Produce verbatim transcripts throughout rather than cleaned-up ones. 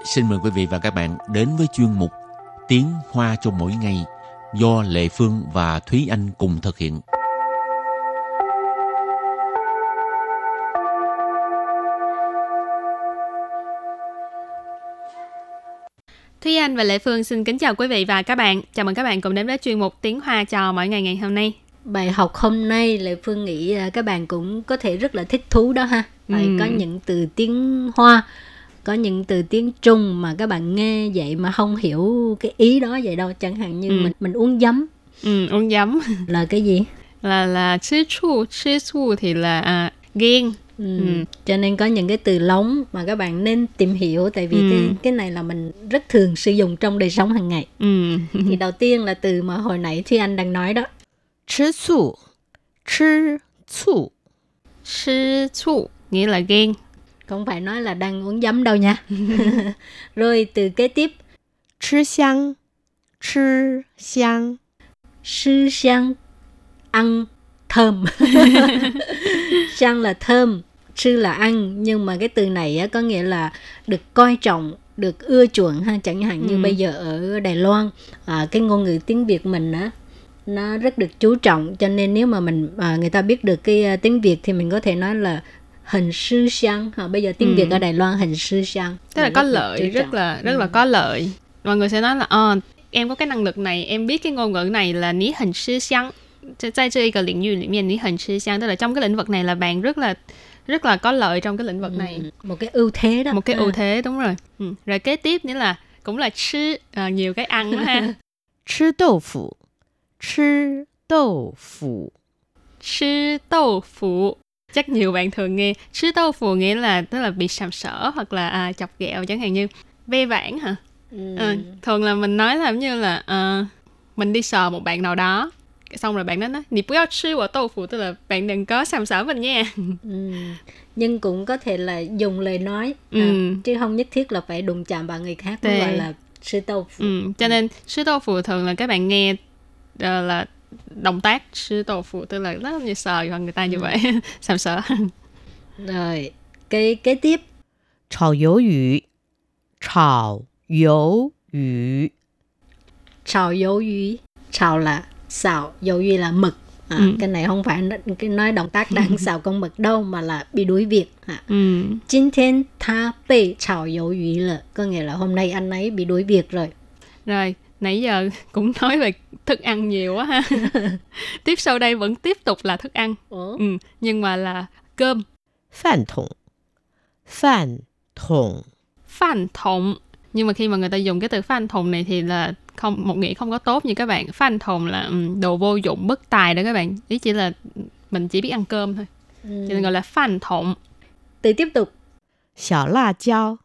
xin mời quý vị và các bạn đến với chuyên mục Tiếng Hoa cho mỗi ngày do Lệ Phương và Thúy Anh cùng thực hiện. Thúy Anh và Lệ Phương xin kính chào quý vị và các bạn. Chào mừng các bạn cùng đến với chuyên mục Tiếng Hoa cho mỗi ngày ngày hôm nay. Bài học hôm nay Lệ Phương nghĩ các bạn cũng có thể rất là thích thú đó ha. Tại ừ. có những từ tiếng Hoa, có những từ tiếng Trung mà các bạn nghe vậy mà không hiểu cái ý đó vậy đâu. Chẳng hạn như ừ. mình mình uống giấm. Ừ, uống giấm là cái gì? Là là chứ chu, chứ chu thì là à, ghen. Ừ. Ừ. Cho nên có những cái từ lóng mà các bạn nên tìm hiểu, tại vì ừ. cái cái này là mình rất thường sử dụng trong đời sống hàng ngày. Ừ. Thì đầu tiên là từ mà hồi nãy Thúy Anh đang nói đó. Chứ chu, chứ chu, chứ chu nghĩa là ghen. Không phải nói là đang uống giấm đâu nha. Rồi từ kế tiếp. Chứ xiang, chứ xiang, chứ xiang, ăn thơm. Xiang là thơm, chứ là ăn. Nhưng mà cái từ này á, có nghĩa là được coi trọng, được ưa chuộng ha. Chẳng hạn ừ. như bây giờ ở Đài Loan, à, cái ngôn ngữ tiếng Việt mình á, nó rất được chú trọng. Cho nên nếu mà mình à, người ta biết được cái uh, tiếng Việt thì mình có thể nói là hình sư xiang. À, bây giờ tiếng ừ. Việt ở Đài Loan hình sư xiang. Tức là có lợi, rất là rất ừ. là có lợi. Mọi người sẽ nói là ờ, em có cái năng lực này, em biết cái ngôn ngữ này là ní hình sư xiang. Tại cái cái lĩnh vực裡ní hình sư xiang, tức là trong cái lĩnh vực này là bạn rất là rất là có lợi trong cái lĩnh vực này. Ừ. Một cái ưu thế đó. Một cái à. ưu thế, đúng rồi. Ừ. Rồi kế tiếp nghĩa là cũng là chứ, à, nhiều cái ăn đó ha. Chứ đậu phụ, chứ đậu phụ, chứ đậu phụ. Chắc nhiều bạn thường nghe chứ đậu phụ nghĩa là tức là bị sàm sỡ hoặc là à, chọc ghẹo, chẳng hạn như ve vãn hả? Ừ. À, thường là mình nói là như là à, mình đi sờ một bạn nào đó, xong rồi bạn đó nói "Nì bù yào chư wo豆腐", tức là bạn đừng có sàm sỡ mình nha. Ừ. Nhưng cũng có thể là dùng lời nói, ừ. à, chứ không nhất thiết là phải đụng chạm vào người khác mới gọi là sư豆腐. Ừ. Cho nên sư豆腐thường là các bạn nghe uh, là động tác sư豆腐, tức là rất như sờ vào người ta như ừ. vậy, sàm sỡ. Rồi cái kế tiếp. Chảo鱿鱼, chảo鱿鱼, chảo鱿鱼, chảo là xào, dầu duy là mực. À, ừ. Cái này không phải cái nói động tác đang xào con mực đâu, mà là bị đuổi việc. À. Ừ. Jin thiên tha bị chảo dầu duy là có nghĩa là hôm nay anh ấy bị đuổi việc rồi. Rồi nãy giờ cũng nói về thức ăn nhiều quá ha. Tiếp sau đây vẫn tiếp tục là thức ăn. Ừ. Nhưng mà là cơm. Phan thùng, phan thùng, phan thùng. Nhưng mà khi mà người ta dùng cái từ phan thùng này thì là không, một nghĩa không có tốt như các bạn. Phan thùng là um, đồ vô dụng, bất tài đó các bạn. Ý chỉ là mình chỉ biết ăn cơm thôi. Ừ. Cho nên gọi là phan thùng. Từ tiếp tục. Xiao la jiao,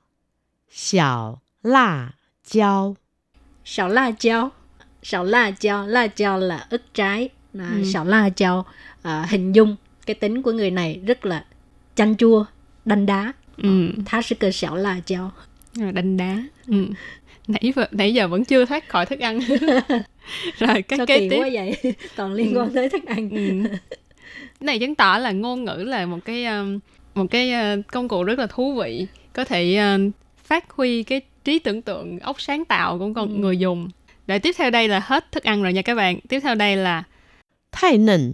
xiao la jiao, xiao la jiao, xiao la jiao, la jiao là ức trái. À, ừ. Xiao la jiao à, hình dung cái tính của người này rất là chanh chua, đanh đá. Ừ. Thá sư cơ xiao la jiao. Đanh đá. Ừ. Nãy, nãy giờ vẫn chưa thoát khỏi thức ăn. Rồi cái kế tiếp quá vậy, còn liên quan ừ. tới thức ăn. Ừ. Cái này chứng tỏ là ngôn ngữ là một cái một cái công cụ rất là thú vị, có thể uh, phát huy cái trí tưởng tượng, óc sáng tạo của con ừ. người dùng. Rồi tiếp theo đây là hết thức ăn rồi nha các bạn. Tiếp theo đây là thái nền,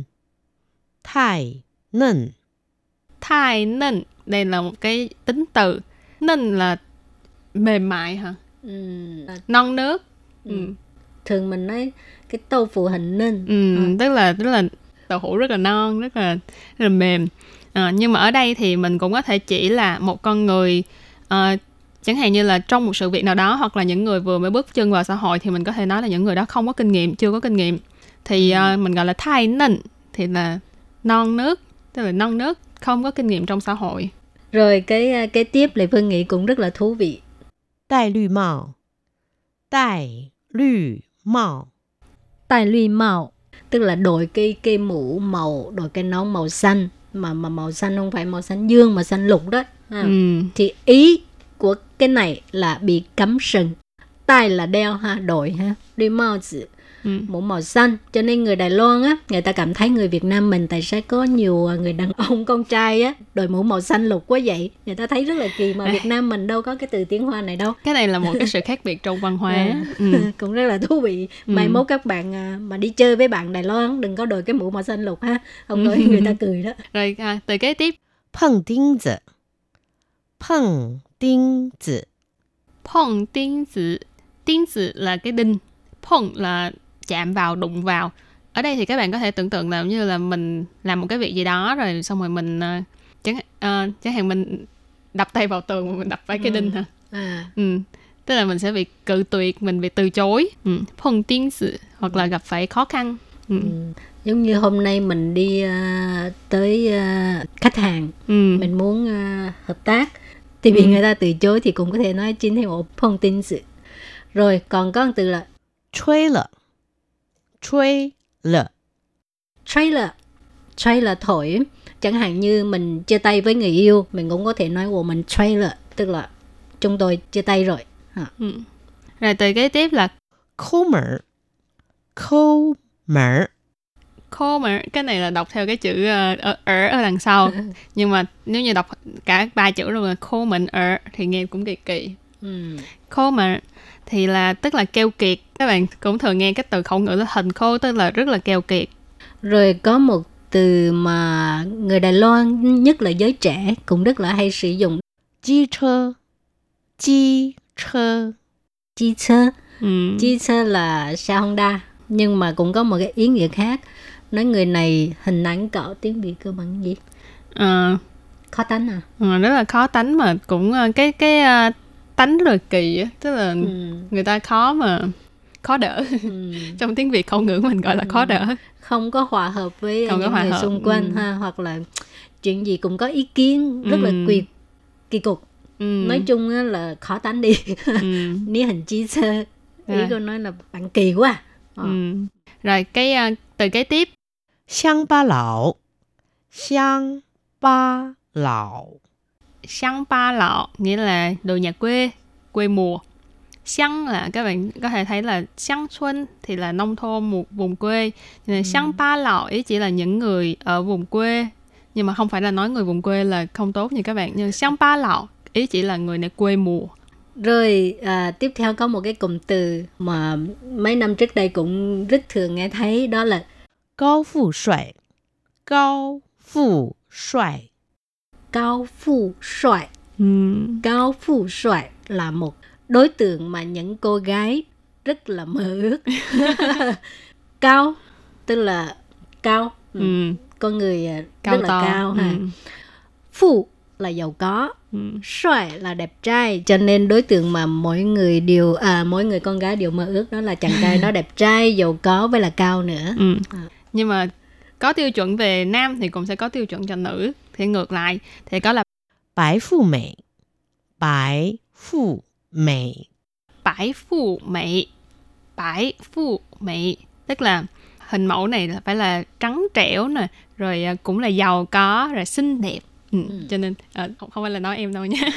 thái nền, thái nền. Đây là một cái tính từ. Nền là mềm mại hả? Ừ. Non nước. Ừ. Ừ. Thường mình nói cái豆腐hình nền. Ừ, à. tức là tức là đậu hũ rất là non, rất là rất là mềm. À, nhưng mà ở đây thì mình cũng có thể chỉ là một con người, uh, chẳng hạn như là trong một sự việc nào đó, hoặc là những người vừa mới bước chân vào xã hội, thì mình có thể nói là những người đó không có kinh nghiệm, chưa có kinh nghiệm, thì uh, mình gọi là thái nền, thì là non nước, tức là non nước, không có kinh nghiệm trong xã hội. Rồi cái cái tiếp Lệ Phương nghĩ cũng rất là thú vị. Đài lư mạo, đài lư mạo, đài lư mạo tức là đội cái cái mũ màu, đội cái nón màu xanh, mà mà màu xanh không phải màu xanh dương mà xanh lục đó. À. Ừ. Thì ý của cái này là bị cấm sừng. Đài là đeo ha, đội ha. Lư mạo tử ừ. mũ màu xanh. Cho nên người Đài Loan á, người ta cảm thấy người Việt Nam mình tại sao có nhiều người đàn ông con trai á đội mũ màu xanh lục quá vậy. Người ta thấy rất là kỳ mà Việt Nam mình đâu có cái từ tiếng Hoa này đâu. Cái này là một cái sự khác biệt trong văn hóa. À, ừ. cũng rất là thú vị. Mai ừ. mốt các bạn mà đi chơi với bạn Đài Loan đừng có đội cái mũ màu xanh lục ha. Không nói người ta cười đó. Rồi à, từ kế tiếp. Phận đinh tử. Phận đinh tử. Phận đinh tử. Đinh tử là cái đinh. Phận là chạm vào, đụng vào. Ở đây thì các bạn có thể tưởng tượng là như là mình làm một cái việc gì đó rồi xong rồi mình uh, chẳng, uh, chẳng hạn mình đập tay vào tường mà mình đập phải cái đinh hả? À. Ừ. Tức là mình sẽ bị cự tuyệt, mình bị từ chối. Ừ. Phận đinh tử hoặc là gặp phải khó khăn. Ừ. Ừ. Giống như hôm nay mình đi uh, tới uh, khách hàng, ừ. mình muốn uh, hợp tác thì bị ừ. người ta từ chối thì cũng có thể nói chính theo phận đinh tử. Rồi còn có một từ là Truy lợ. Truy lợ. Truy lợ. Truy là thổi. Chẳng hạn như mình chia tay với người yêu, mình cũng có thể nói của mình truy lợ, tức là chúng tôi chia tay rồi. À. Ừ. Rồi từ kế tiếp là Khô mở. Khô mở. Khô mở. Cái này là đọc theo cái chữ uh, ở, ở ở đằng sau. Nhưng mà nếu như đọc cả ba chữ luôn là khô mệnh ở thì nghe cũng kỳ kỳ. Ừ. Khô mở thì là tức là keo kiệt. Các bạn cũng thường nghe cái từ khẩu ngữ là hình khô, tức là rất là keo kiệt. Rồi có một từ mà người Đài Loan, nhất là giới trẻ, cũng rất là hay sử dụng. Chi chơ. Chi chơ. Chi chơ. Ừ. Chi chơ là xe Honda. Nhưng mà cũng có một cái ý nghĩa khác. Nói người này hình ảnh cỡ tiếng Việt cơ bằng gì? À, khó tánh à? À, rất là khó tánh mà cũng cái cái uh, tánh rất là kỳ á, tức là ừ. người ta khó mà khó đỡ. Ừ. Trong tiếng Việt khẩu ngữ mình gọi là khó đỡ. Không có hòa hợp với Không những hòa người hợp. xung quanh ừ. ha, hoặc là chuyện gì cũng có ý kiến rất ừ. là kỳ kỳ cục. Ừ. Nói chung á là khó tánh đi. Ừ. Ní hình chi sơ. Ý à. Cô nói là bạn kỳ quá. À. Ừ. Rồi cái uh, từ kế tiếp. Xiang ba lão. Xiang ba lão. Xiang ba lão nghĩa là đồ nhà quê, quê mùa. Xiang là các bạn có thể thấy là xiang xuân thì là nông thôn, một vùng quê. Nên xiang ừ. ba lão ý chỉ là những người ở vùng quê, nhưng mà không phải là nói người vùng quê là không tốt như các bạn. Nhưng xiang ba lão ý chỉ là người này quê mùa. Rồi à, tiếp theo có một cái cụm từ mà mấy năm trước đây cũng rất thường nghe thấy, đó là cao phụ xoài. Cao phụ xoài. Cao phụ xoài. Ừ. Cao phụ xoài là một đối tượng mà những cô gái rất là mơ ước. Cao tức là cao, ừ. con người cao rất là to. cao ha. Ừ. Phụ là giàu có, ừ. xoài là đẹp trai, cho nên đối tượng mà mỗi người đều à mỗi người con gái đều mơ ước đó là chàng trai đó đẹp trai, giàu có với là cao nữa. Ừ. À. Nhưng mà có tiêu chuẩn về nam thì cũng sẽ có tiêu chuẩn cho nữ. Thì ngược lại thì có là bái phụ mỹ. Bái phụ mỹ. Bái phụ mỹ. Bái phụ mỹ tức là hình mẫu này là phải là trắng trẻo nè, rồi cũng là giàu có, rồi xinh đẹp. Ừ. Ừ. Cho nên à, không, không phải là nói em đâu nha.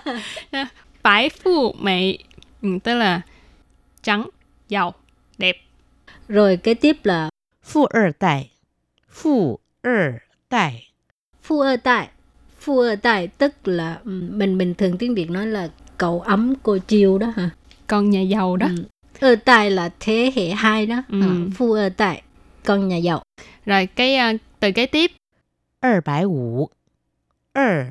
Bái phụ mỹ ừ, tức là trắng, giàu, đẹp. Rồi kế tiếp là Phụ ơ đại. Phụ ơ đại. Phụ ơ đại. Phụ ơ đại tức là mình bình thường tiếng Việt nói là cậu ấm cô chiêu đó hả? Con nhà giàu đó. Ừ. Ơ đại là thế hệ hai đó. Ừ. À, phụ ơ đại, con nhà giàu. Rồi cái uh, từ kế tiếp. hai trăm五. hai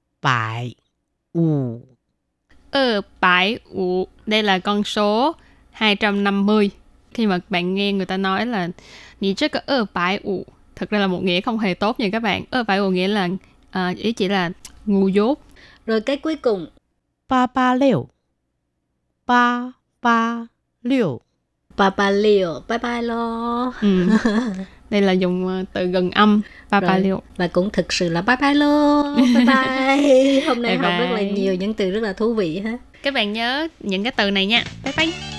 trăm五. hai trăm五. Đây là con số hai trăm năm mươi. Khi mà bạn nghe người ta nói là Nì chắc có hai trăm五, thực ra là một nghĩa không hề tốt nha các bạn. hai trăm五nghĩa là uh, ý chỉ là ngu dốt. Rồi cái cuối cùng ba ba sáu. ba ba sáu. ba ba sáu. Bye bye lo. Ừ. Đây là dùng từ gần âm ba ba sáu. Và cũng thực sự là bye bye lo. Bye bye. Hôm nay bye học bye. Rất là nhiều những từ rất là thú vị ha. Các bạn nhớ những cái từ này nha. Bye bye.